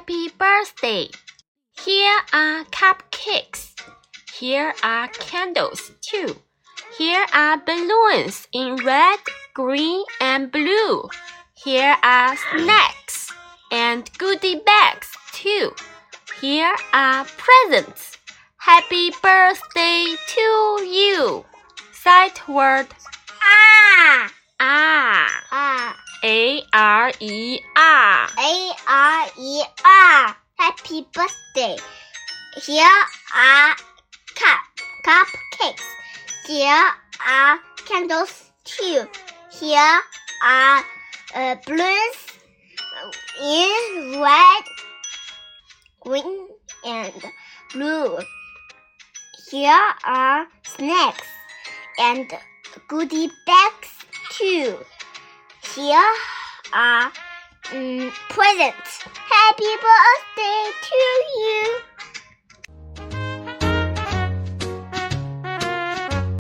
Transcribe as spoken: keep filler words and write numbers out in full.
Happy birthday! Here are cupcakes. Here are candles too. Here are balloons in red, green, and blue. Here are snacks and goodie bags too. Here are presents. Happy birthday to you. Sight word. Ah. Ah. Ah. A R E R. A R E R. Happy birthday. Here are cup cupcakes. Here are candles too. Here are uh, balloons in red, green, and blue. Here are snacks and goodie bags too. Here are um, presents. Happy birthday to you.